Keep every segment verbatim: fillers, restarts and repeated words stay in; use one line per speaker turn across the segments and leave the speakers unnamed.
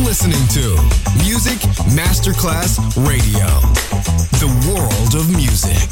listening to Music Masterclass Radio, the world of music.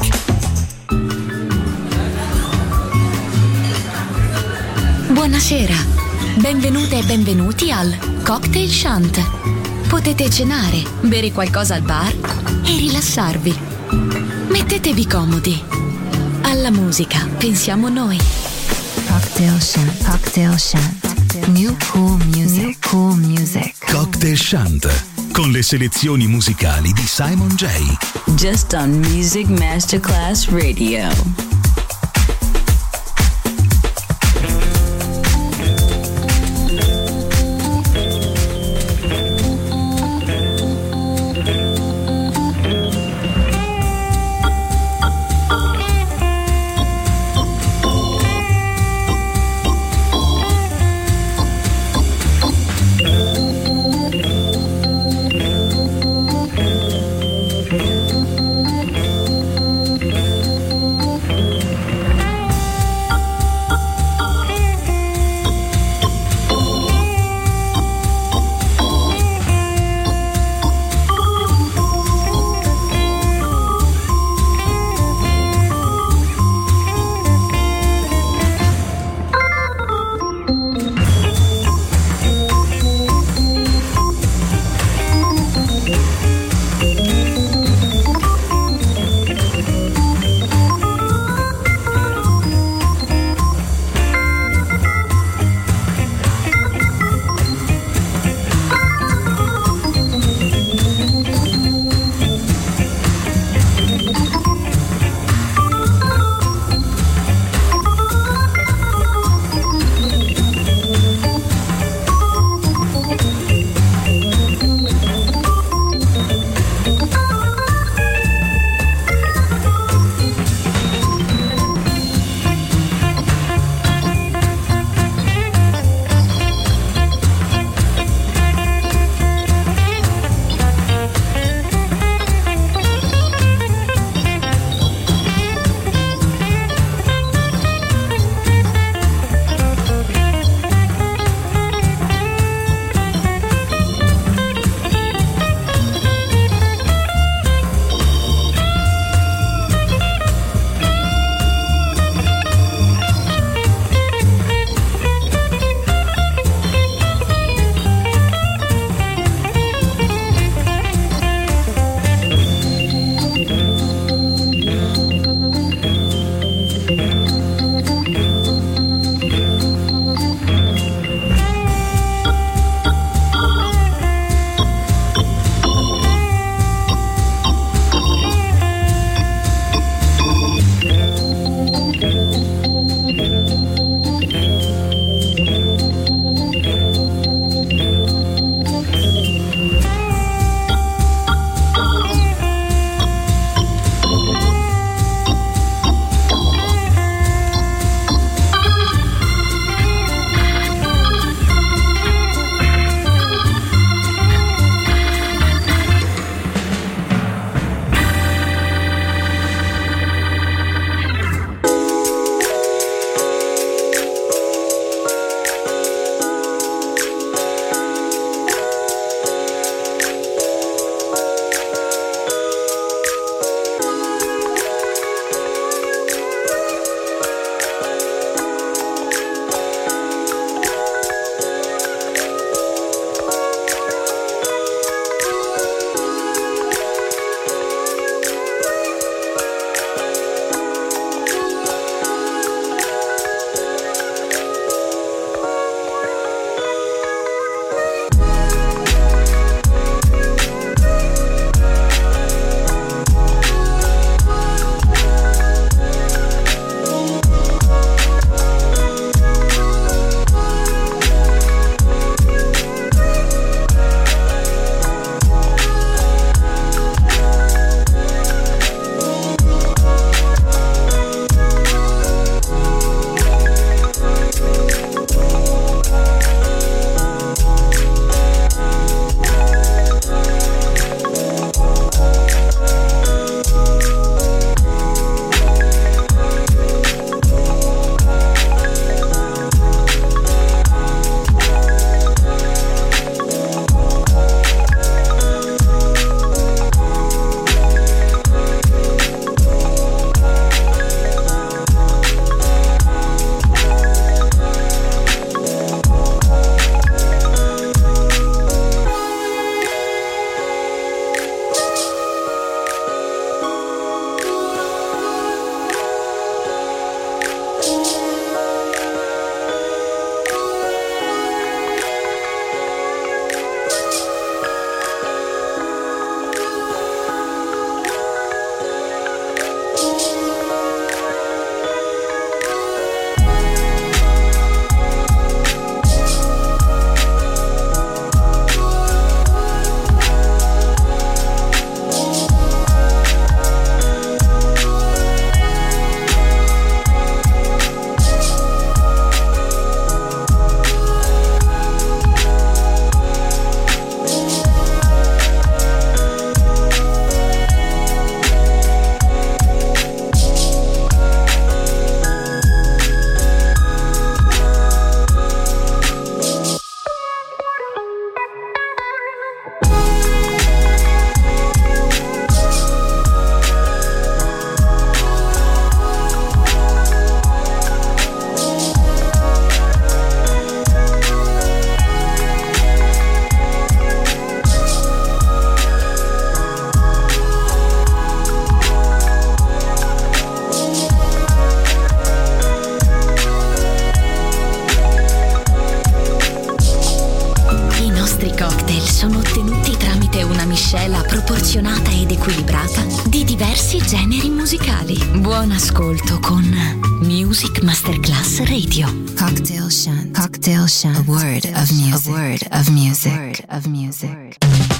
Buonasera, benvenute e benvenuti al Cocktail Shant. Potete cenare, bere qualcosa al bar e rilassarvi. Mettetevi comodi. Alla musica pensiamo noi.
Cocktail Shant, Cocktail Shant. New cool music, New cool music.
Cocktail Shant, con le selezioni musicali di Simon J.
Just on Music Masterclass Radio.
nostri cocktail sono ottenuti tramite una miscela proporzionata ed equilibrata di diversi generi musicali. Buon ascolto con Music Masterclass Radio.
Cocktail Shant. Cocktail Shant. A word of music. A word of music. A word of music.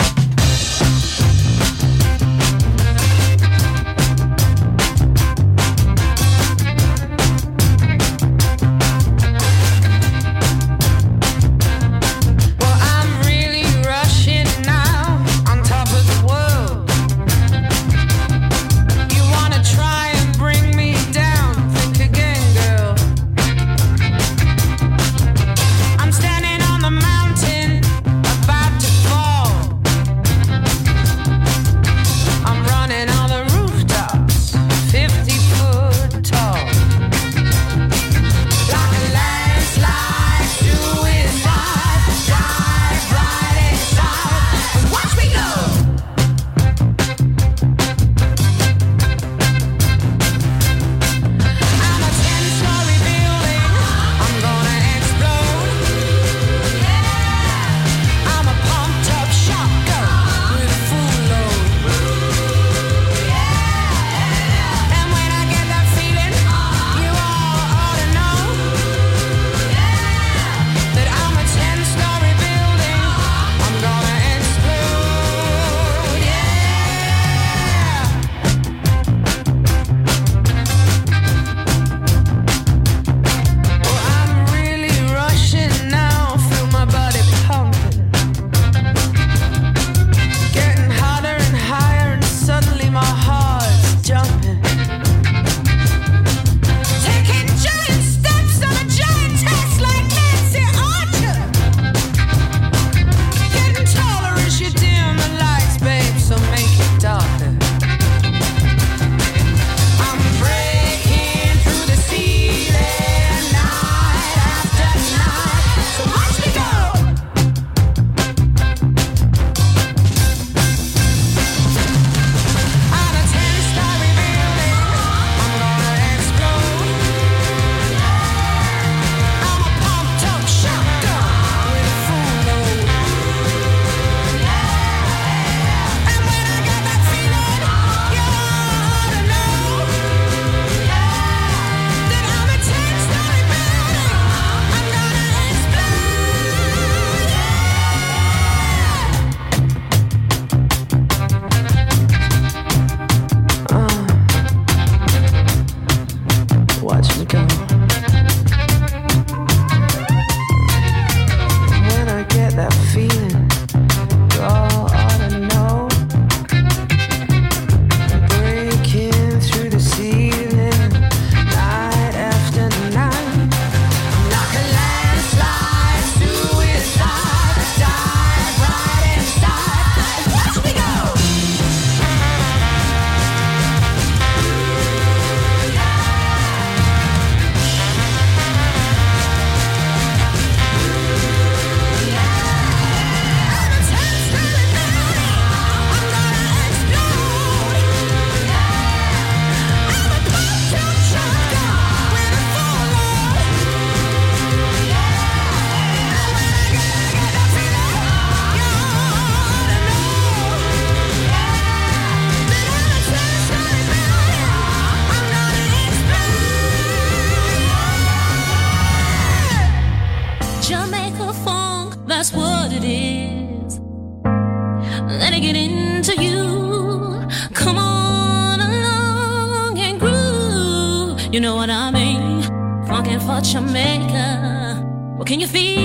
You know what I mean? Funkin' for Jamaica. What can you feel?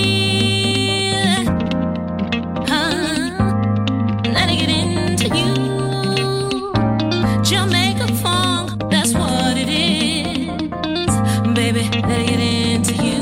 Huh? Let it get into you. Jamaica funk, that's what it is. Baby, let it get into you.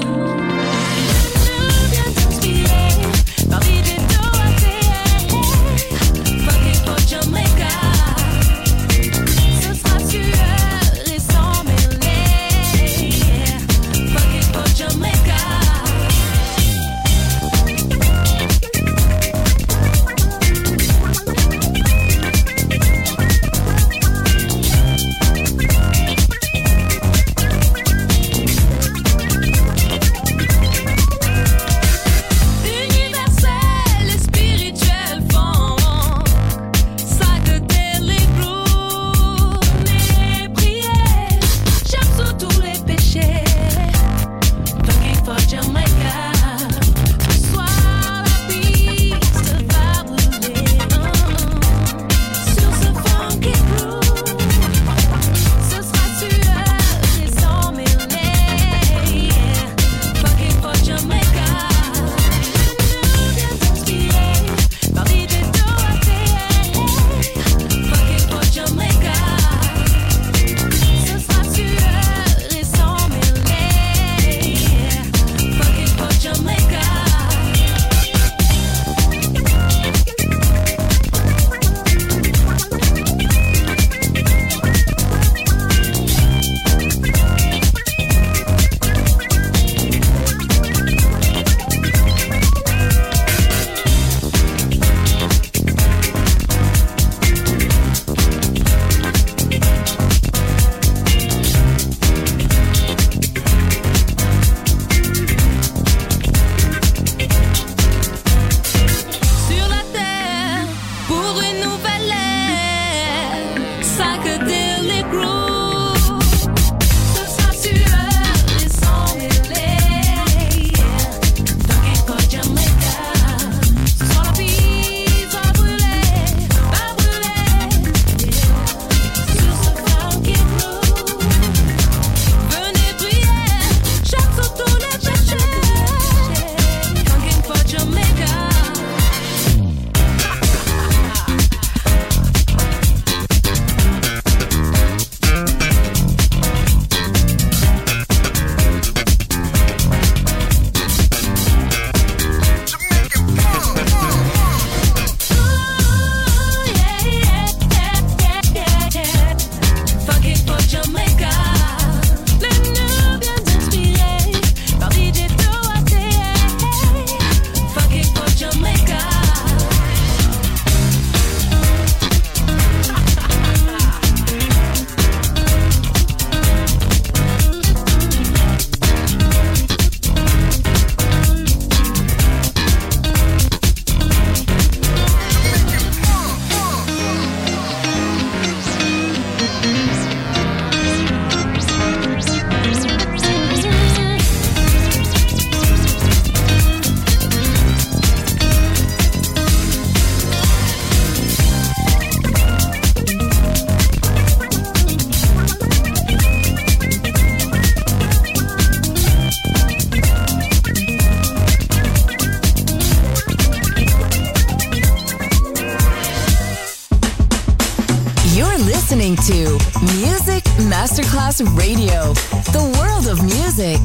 listening to Music Masterclass Radio, the world of music.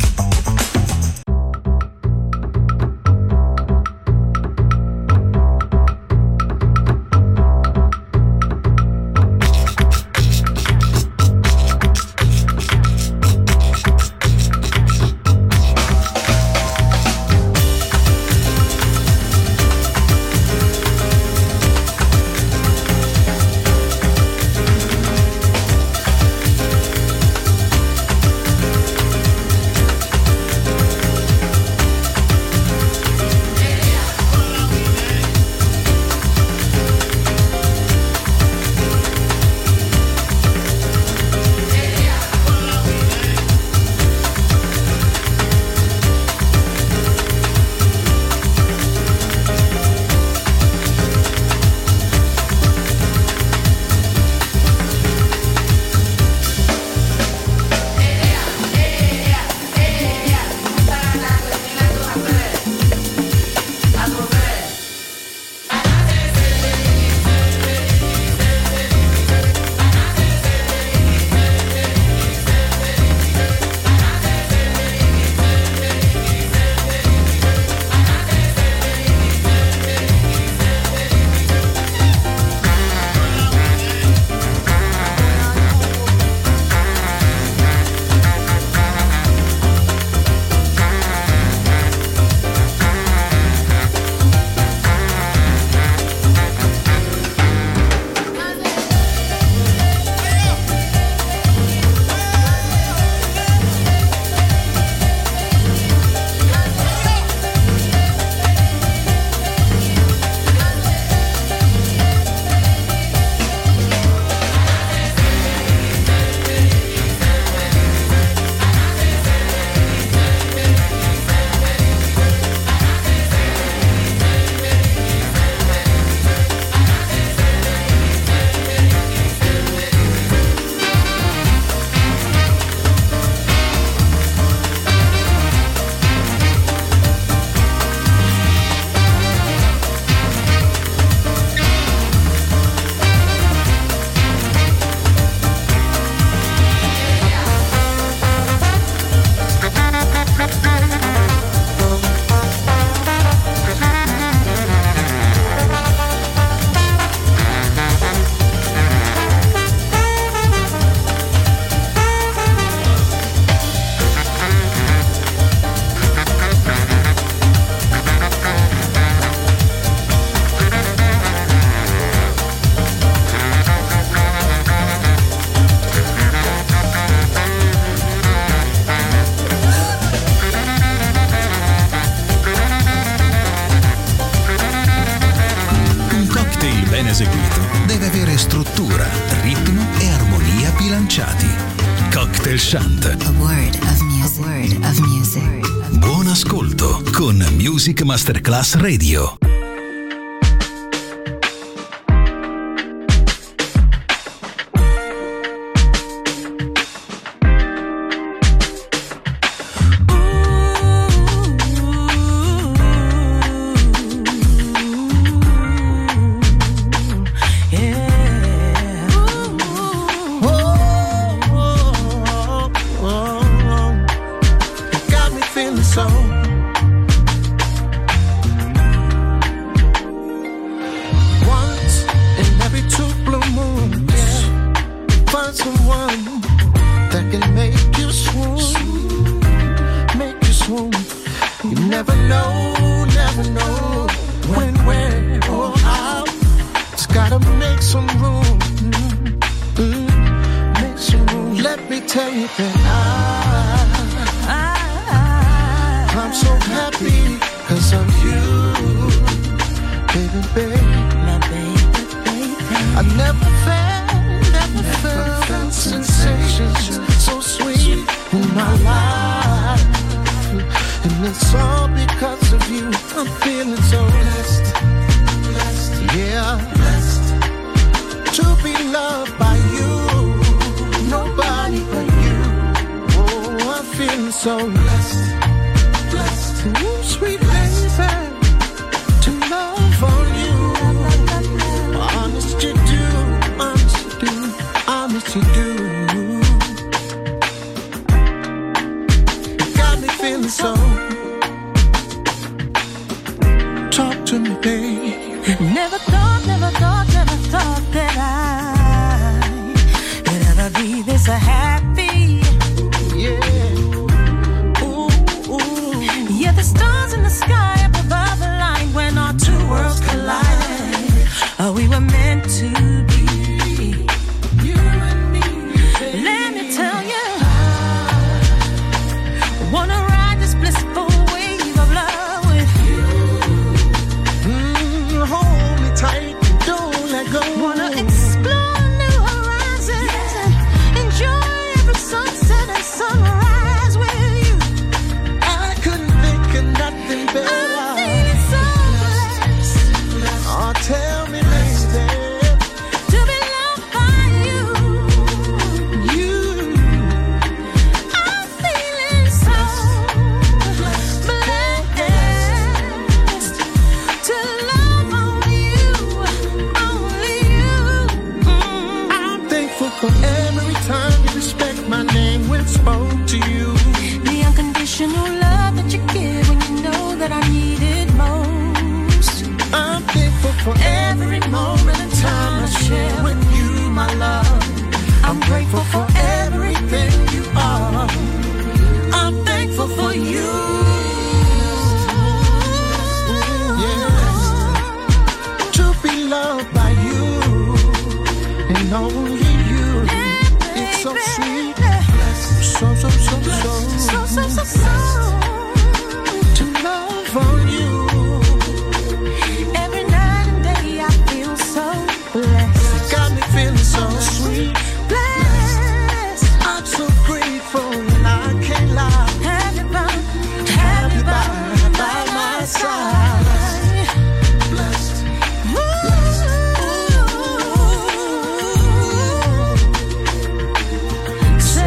eseguito deve avere struttura, ritmo e armonia bilanciati. Cocktail Shant.
A word of music. A word of music.
Buon ascolto con Music Masterclass Radio.
I baby.
Never thought, never thought, never thought that I could ever be this happy.
Yeah. Ooh, ooh.
Yeah, the stars in the sky up above align when our two worlds collide. Oh, we were meant to be.
You and me.
Let me tell you, wanna ride this blissful wave of love with you.
Mm, hold me tight and don't let go.
Wanna explore new horizons, yeah, and enjoy every sunset and sunrise with you.
I couldn't think of nothing better.
I'm feeling so blessed.
Oh, tell me, lady,
To be loved by you.
you.
I'm feeling so blessed to love on you, only you. Mm.
I'm thankful for every time you respect my name when spoke to you.
The unconditional love that you give when you know that I need it most.
I'm thankful for every moment and time I share with you, my love. I'm grateful for everything you are. I'm thankful for you. Yeah. To be loved by you and only you. It's so sweet. So, so, so, so.
So, so, so, so.
To love on you.
Every night and day I feel so blessed.
Got me feeling so sweet.
Blessed.
I'm so grateful and I can't lie.
Have you by,
Have you by, by my side. Blessed.
Ooh.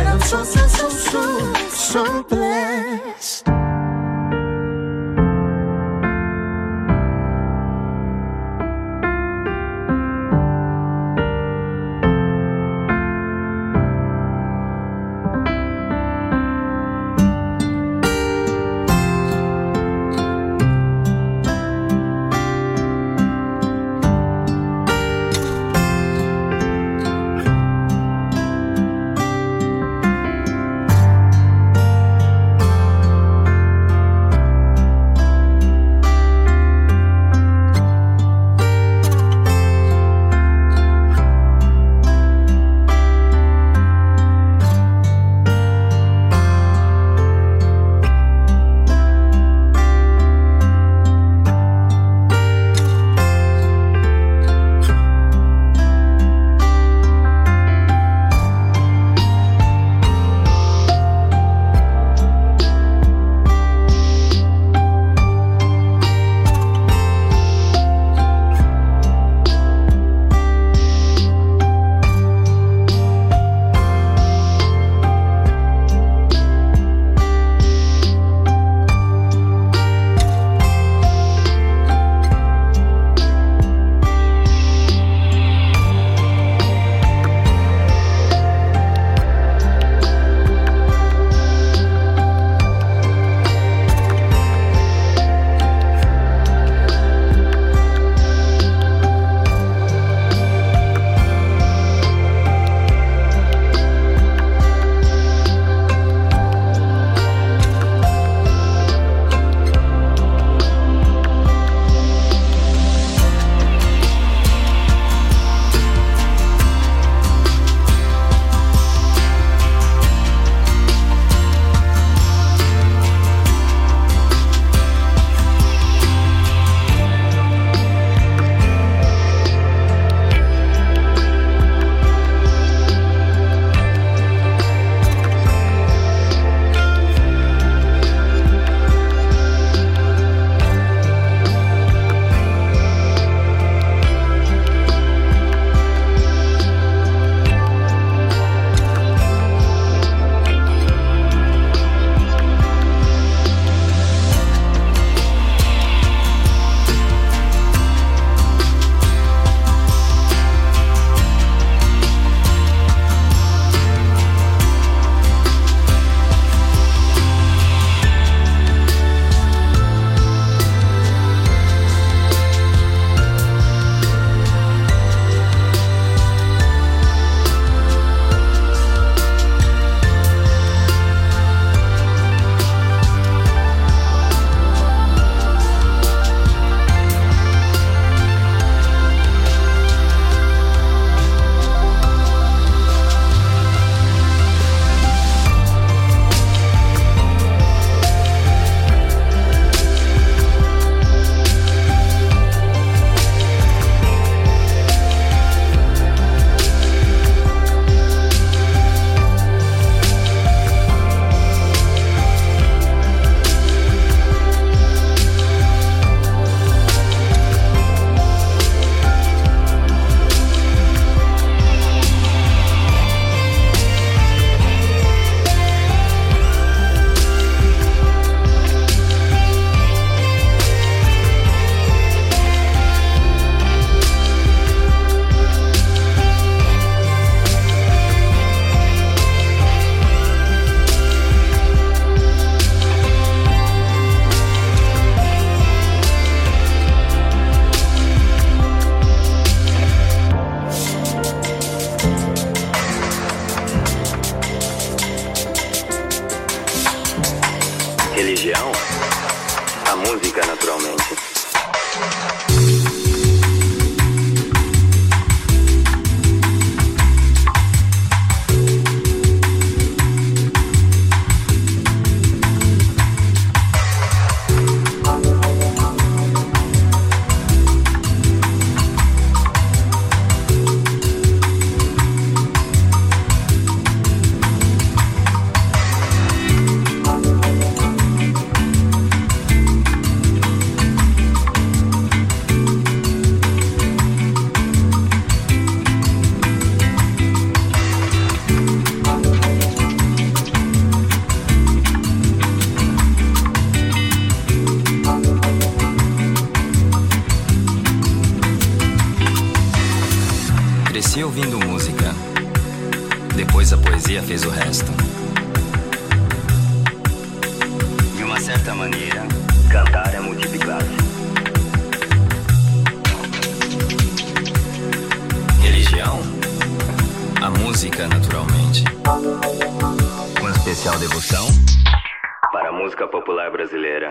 ouvindo música. Depois a poesia fez o resto. De uma certa maneira, cantar é multiplicar. Religião? A música, naturalmente. Com especial devoção para a música popular brasileira.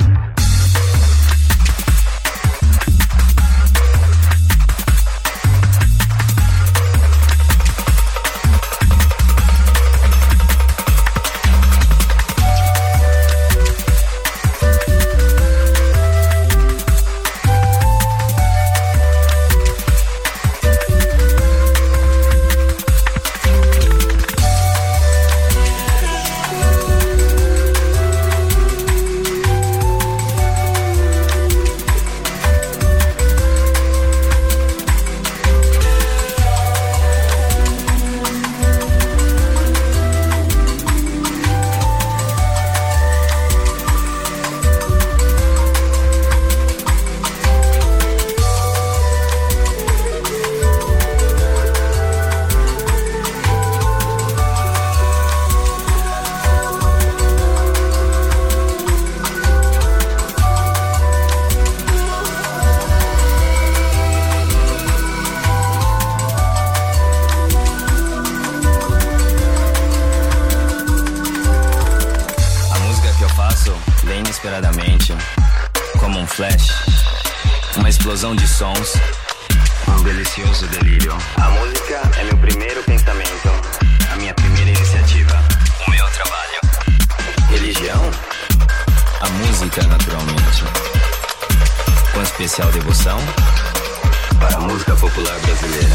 De sons, um delicioso delírio. A música é meu primeiro pensamento, a minha primeira iniciativa, o meu trabalho. Religião? A música, naturalmente. Com especial devoção para a música popular brasileira.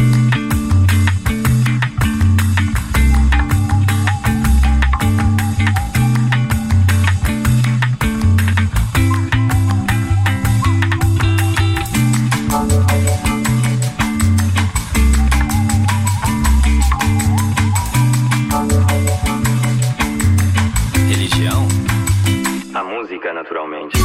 Naturalmente.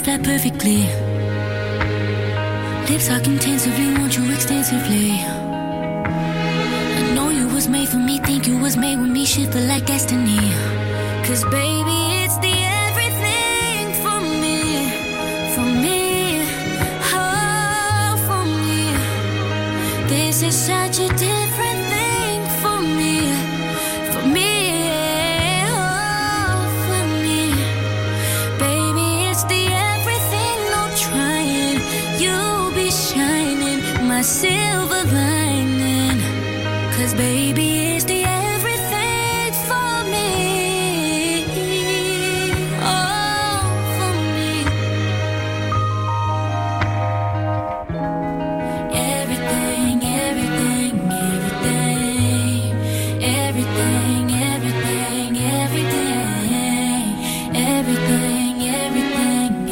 that perfectly. Lips talk intensively, want you extensively. I know you was made for me, think you was made with me, shit feel like destiny. Cause baby, it's the everything for me, for me, oh, for me. This is such a different thing for me, for me, oh, for me. Baby, it's the everything, no trying, you'll be shining, my silver lining. Cause baby, it's the everything for me, oh, for me. Everything, everything, everything, everything, everything, everything, everything, everything,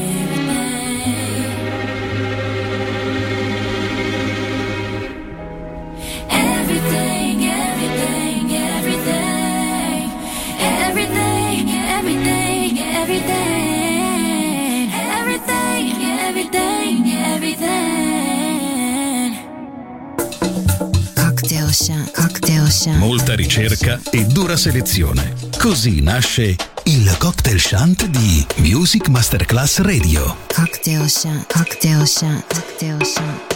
everything. Everything, everything, everything, everything, everything, everything, everything, everything.
Cocktail Shant, Cocktail Shant.
Molta ricerca e dura selezione. Così nasce il Cocktail Shant di Music Masterclass Radio.
Cocktail Shant, Cocktail Shant, Cocktail Shant.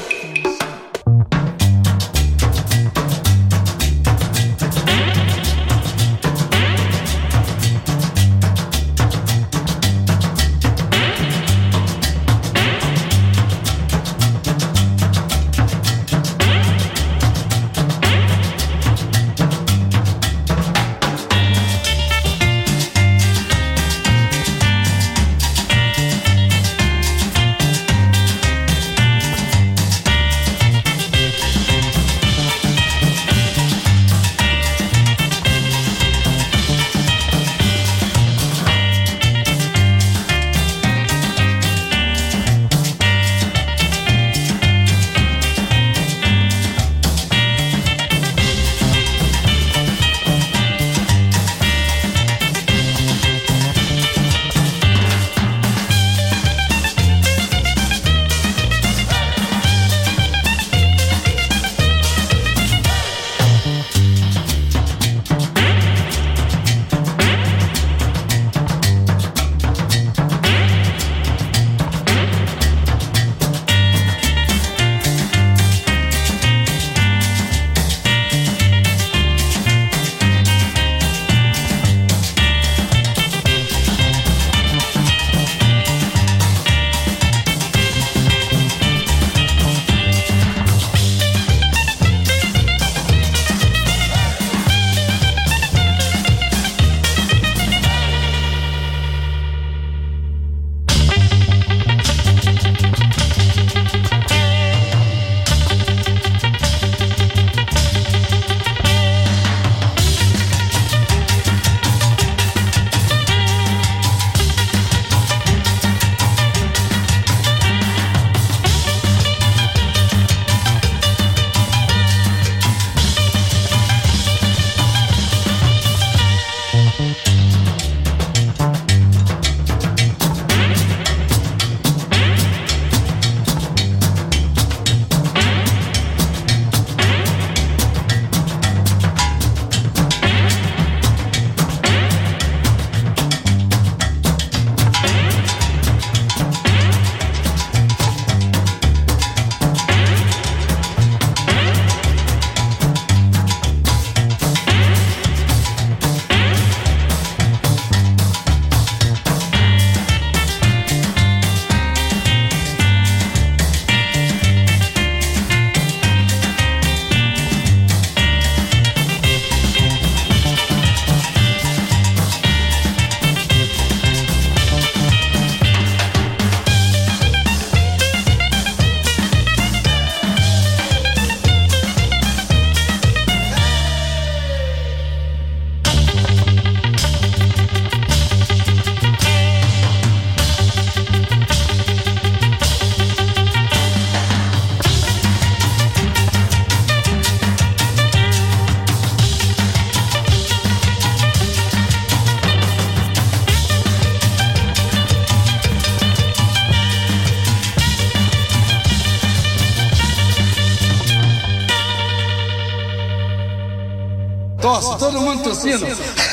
Tosse, todo mundo tossindo.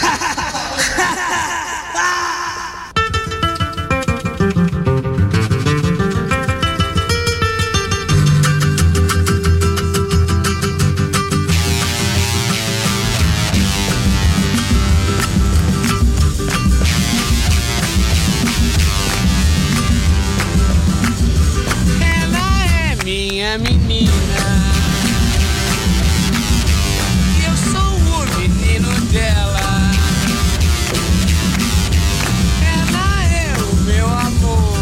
Minha menina, eu sou o menino dela. Ela é o meu amor,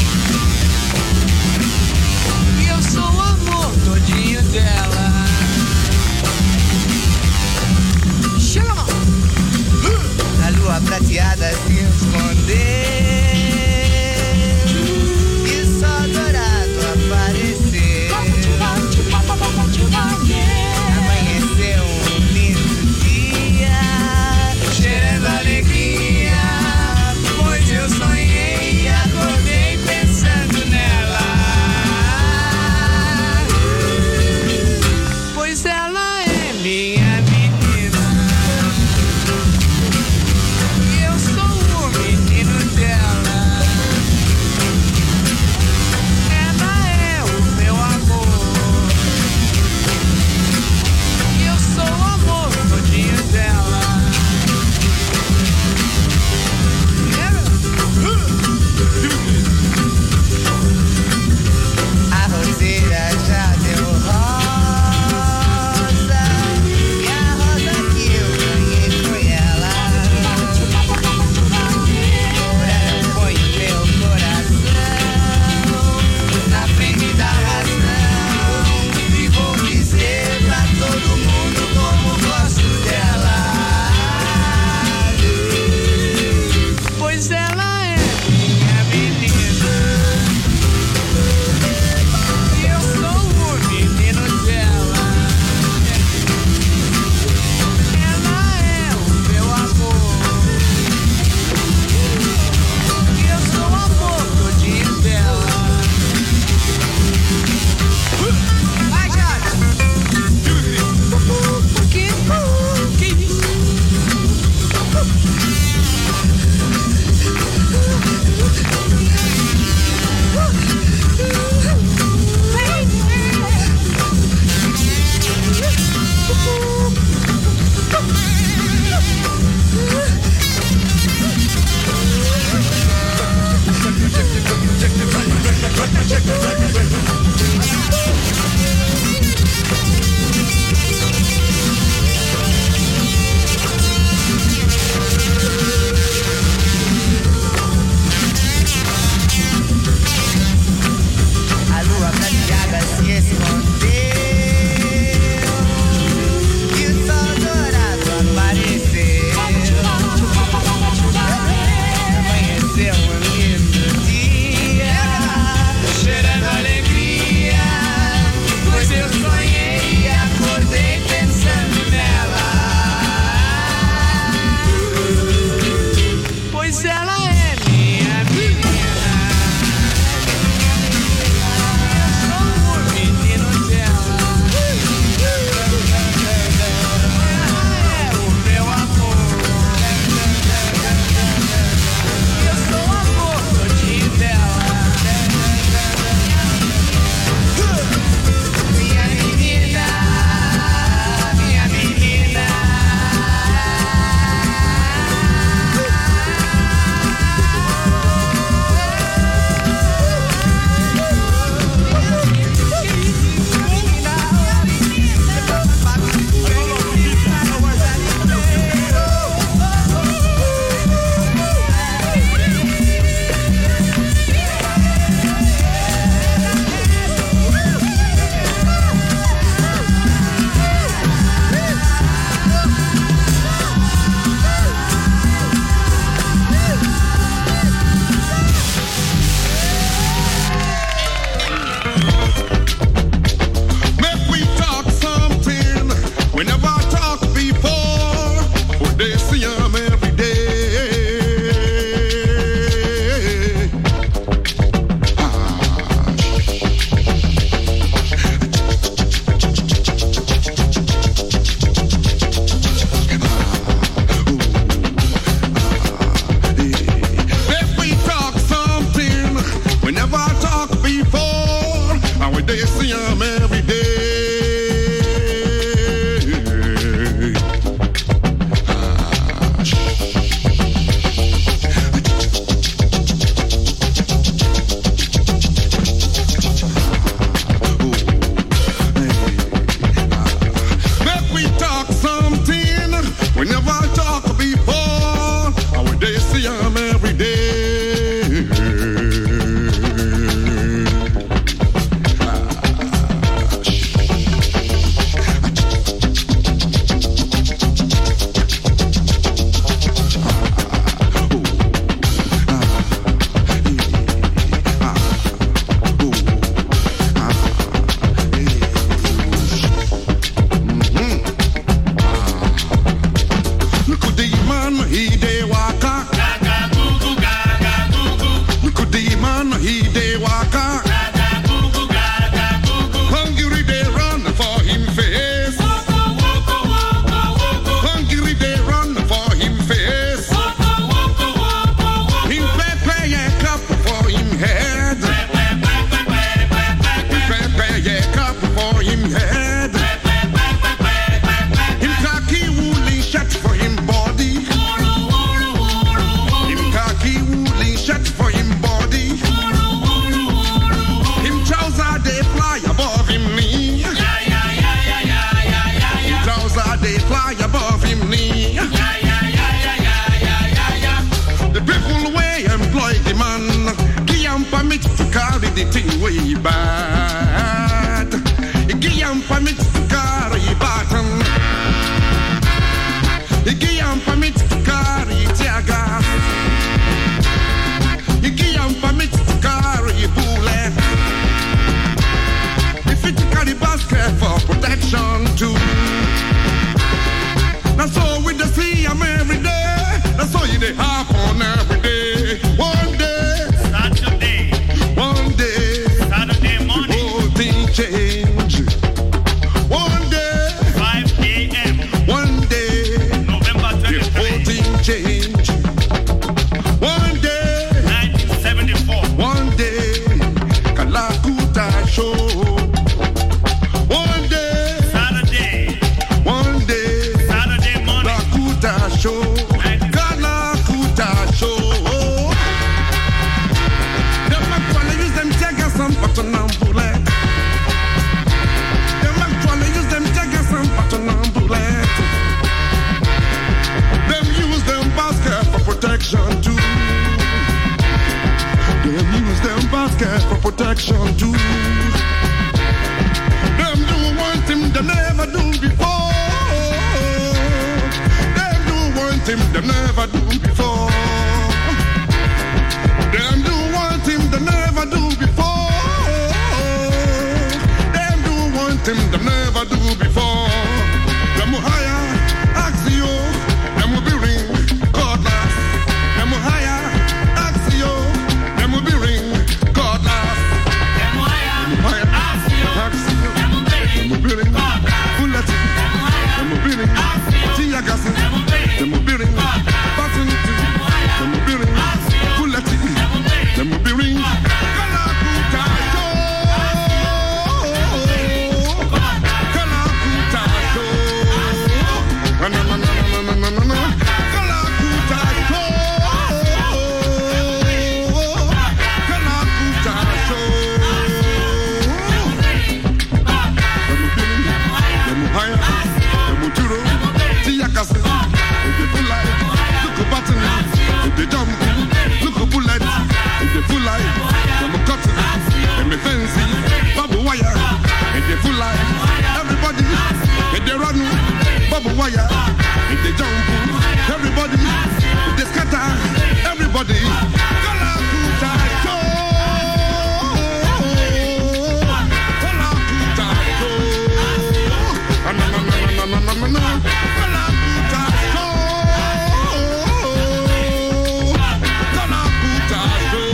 e eu sou o amor todinho dela. Chega, mano.
A lua prateada se escondeu. Amanheceu um lindo dia, cheirando alegria, pois eu sonhei e acordei pensando nela.
Pois ela é minha menina, e eu sou o menino dela. Ela é o meu amor, sou o amor todinho dela.
A roseira já deu rosa, e a rosa que eu ganhei foi ela. Por ela ponho meu coração na frente da razão, e vou dizer pra todo mundo como gosto dela.
Pois ela é minha menina, e eu sou o menino dela. Ela é o meu amor, e eu sou o amor todinho dela. Vai, Jara!
A lua prateada se escondeu, e o sol dourado apareceu. Amanheceu um lindo dia, cheirando a
way bad. Igiyam permit carry button. Igiyam permit carry tiaga. Igiyam permit carry bullet. If it carry basket for protection too. That's all we the see I'm every day. That's all you they happen every day. One day,
Saturday.
One day,
Saturday morning.
The whole thing change. One day,
five a.m.
One day,
November twenty-third.
The whole thing change. One day,
nineteen seventy-four.
One day, Kalakuta show. One day,
Saturday.
One day,
Saturday morning.
Kalakuta show. Kalakuta show. Them actually use them jaggers and button and bullet. Them actually use them jaggers and button and bullet. Them use them basket for protection too. Them use them basket for protection too. Them do one thing they never do before. Them do one thing they never do before. Them do one thing they never do before. Them do one thing they never do before. Them will hire Axio. Them will be ring cordless. Them will hire Axio. Them will be ring cordless.
Them wire. Axio. Them will be
Them will be ring bullet. Them will be ring tear gas. Them will be ring button. Them will be ring bullet. Them will be ring Kalakuta show. Kalakuta show. Na na na na na na na na. Kalakuta show. Kalakuta show. Them will be ring. Them will hire. Them will duro. Tear gas. If they full life, look a button. If they jump, look a bullet. If they full life, them a cut. Them a fancy, bubble wire. If they full life, everybody. If they run, bubble wire. If they jump, everybody. If they scatter, everybody. Kalakuta show. Kalakuta show. Na na na na na na na na. Kalakuta show. Kalakuta show.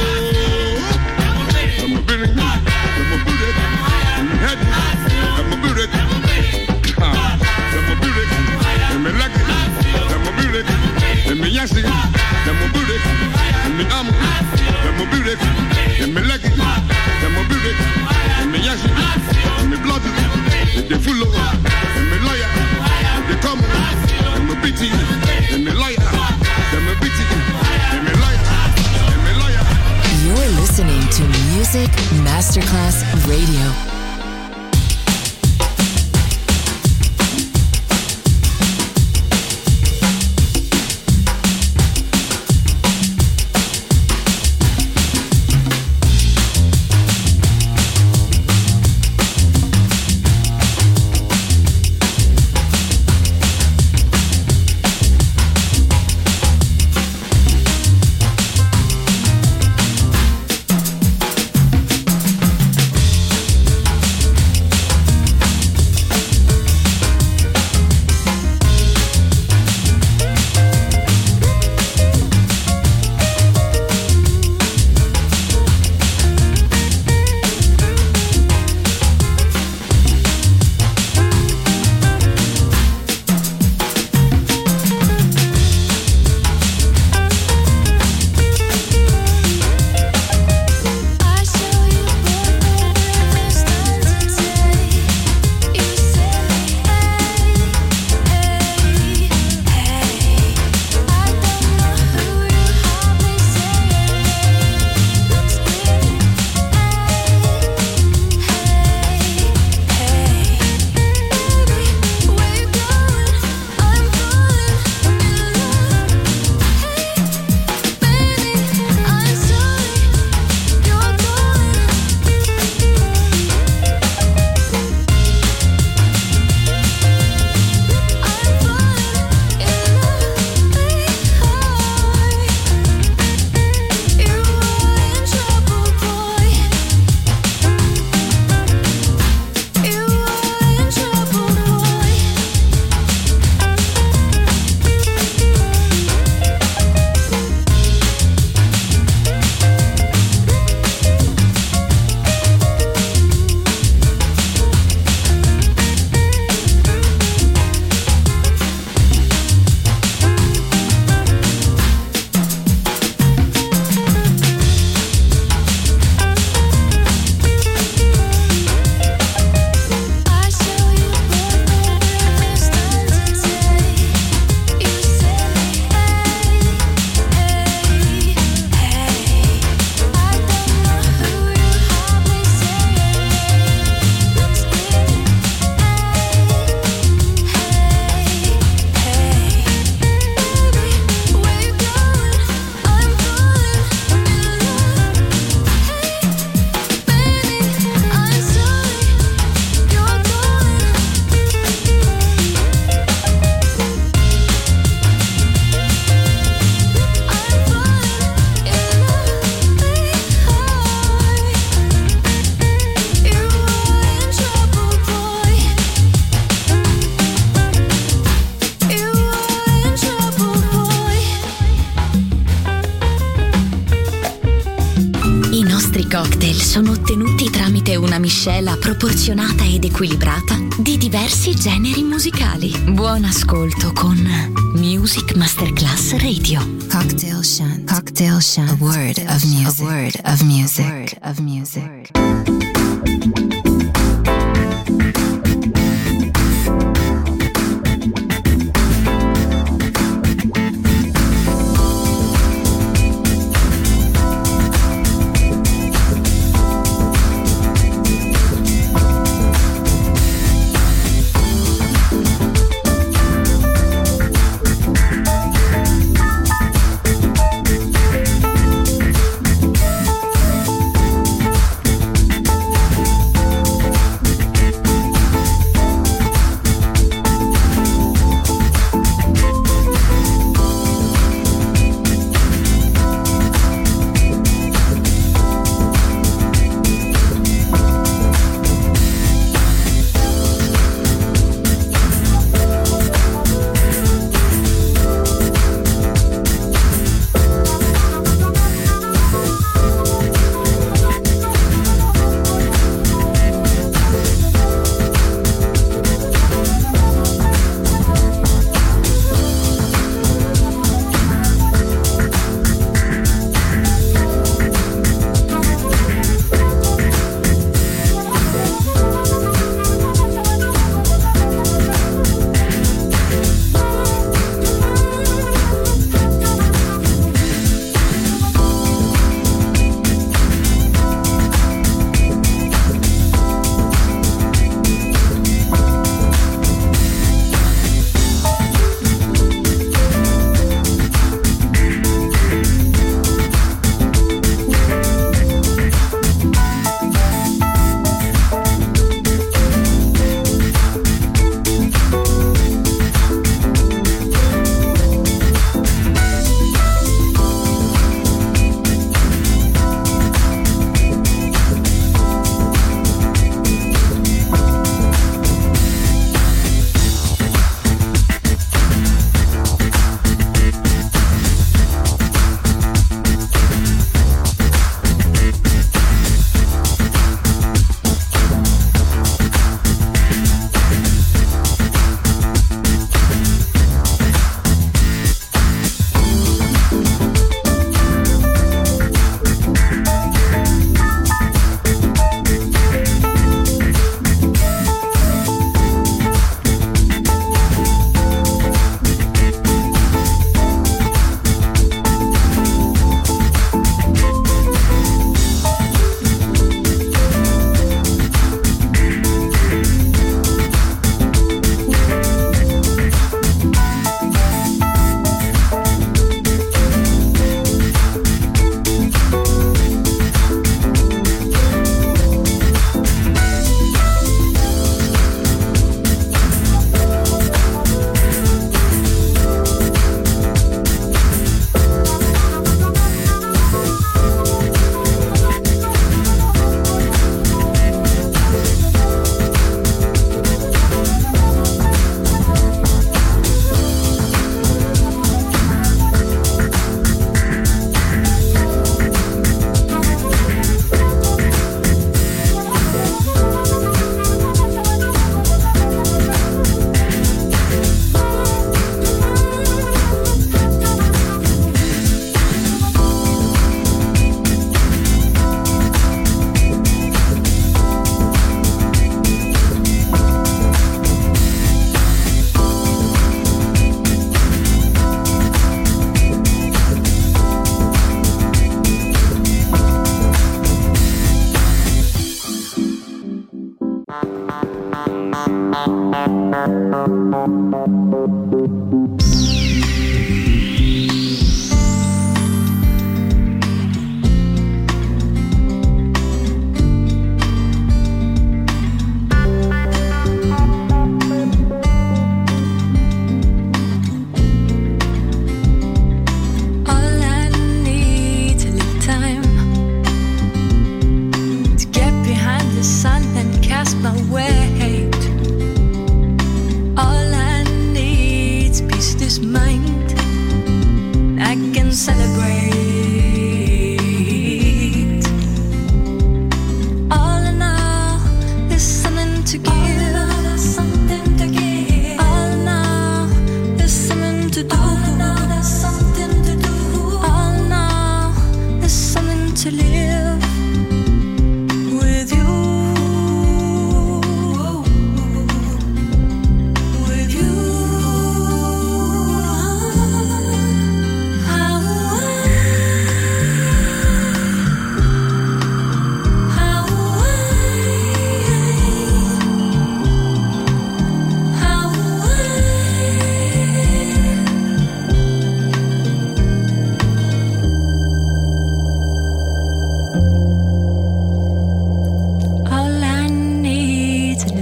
I'm a billing, I'm a bullet, I'm a head, I'm a bullet. I'm a bullet, I'm a leg, I'm a bullet, I'm a yashi, I'm a bullet, I'm a arm, I'm a bullet, I'm a leg, I'm a bullet, I'm a yashi, I'm a blood, I'm a full of, I'm a lawyer, I'm a come, I'm a bitty, I'm a liar, I'm a bitty, I'm a liar, I'm a liar.
You're listening to Music Masterclass Radio.
sono ottenuti tramite una miscela proporzionata ed equilibrata di diversi generi musicali. Buon ascolto con Music Masterclass Radio.
Cocktail Shant. Cocktail Shant. A word of music. A word of music. A word of music.
My weight. All I need's peace.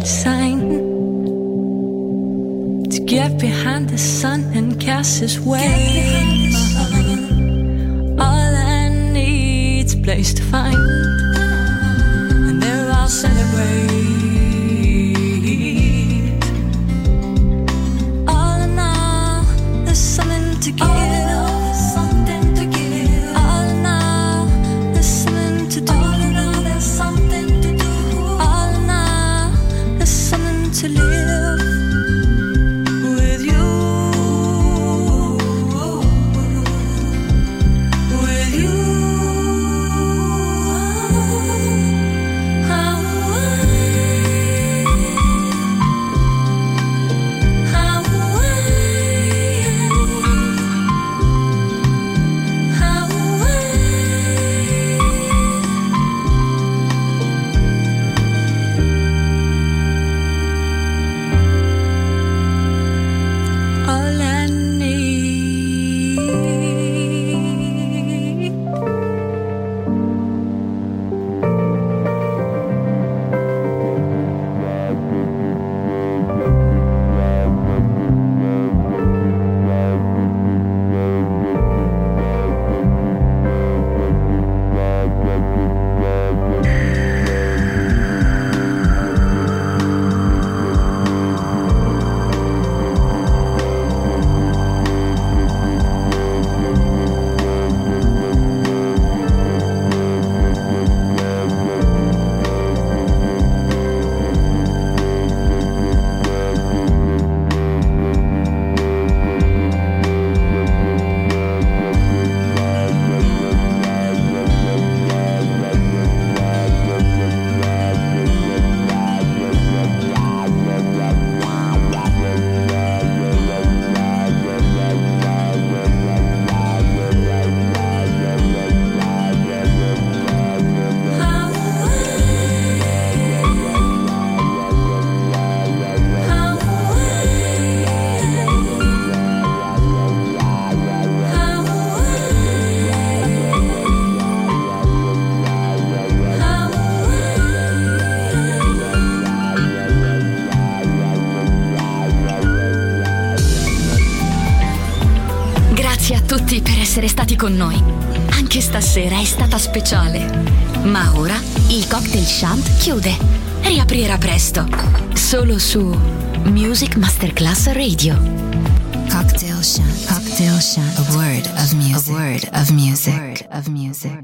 sign to get behind the sun and cast his way. All I need's a place to find, and there I'll celebrate. All in all, there's something to give. To live with you, with you. How I, how I, how all I need.
Grazie a tutti per essere stati con noi. Anche stasera è stata speciale. Ma ora il Cocktail Shant chiude. Riaprirà presto. Solo su Music Masterclass Radio.
Cocktail Shant. Cocktail Shant. A word of music. A word of music. A word of music.